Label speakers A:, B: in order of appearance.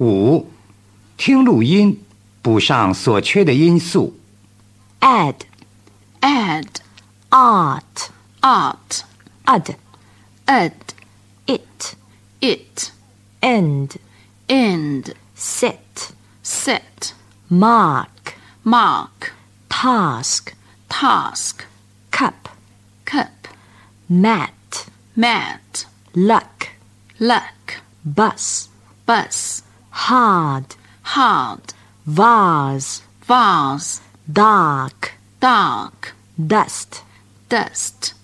A: 5. 听录音，补上所缺的音素。
B: add,
C: add,
B: art,
C: art,
B: ud,
C: ed,
B: it,
C: it,
B: end,
C: end,
B: set,
C: set,
B: mark,
C: mark,
B: task,
C: task,
B: cup,
C: cup,
B: mat,
C: mat,
B: luck,
C: luck,
B: bus,
C: bus,
B: hard,
C: hard,
B: vase,
C: vase,
B: dark,
C: dark,
B: dust,
C: dust,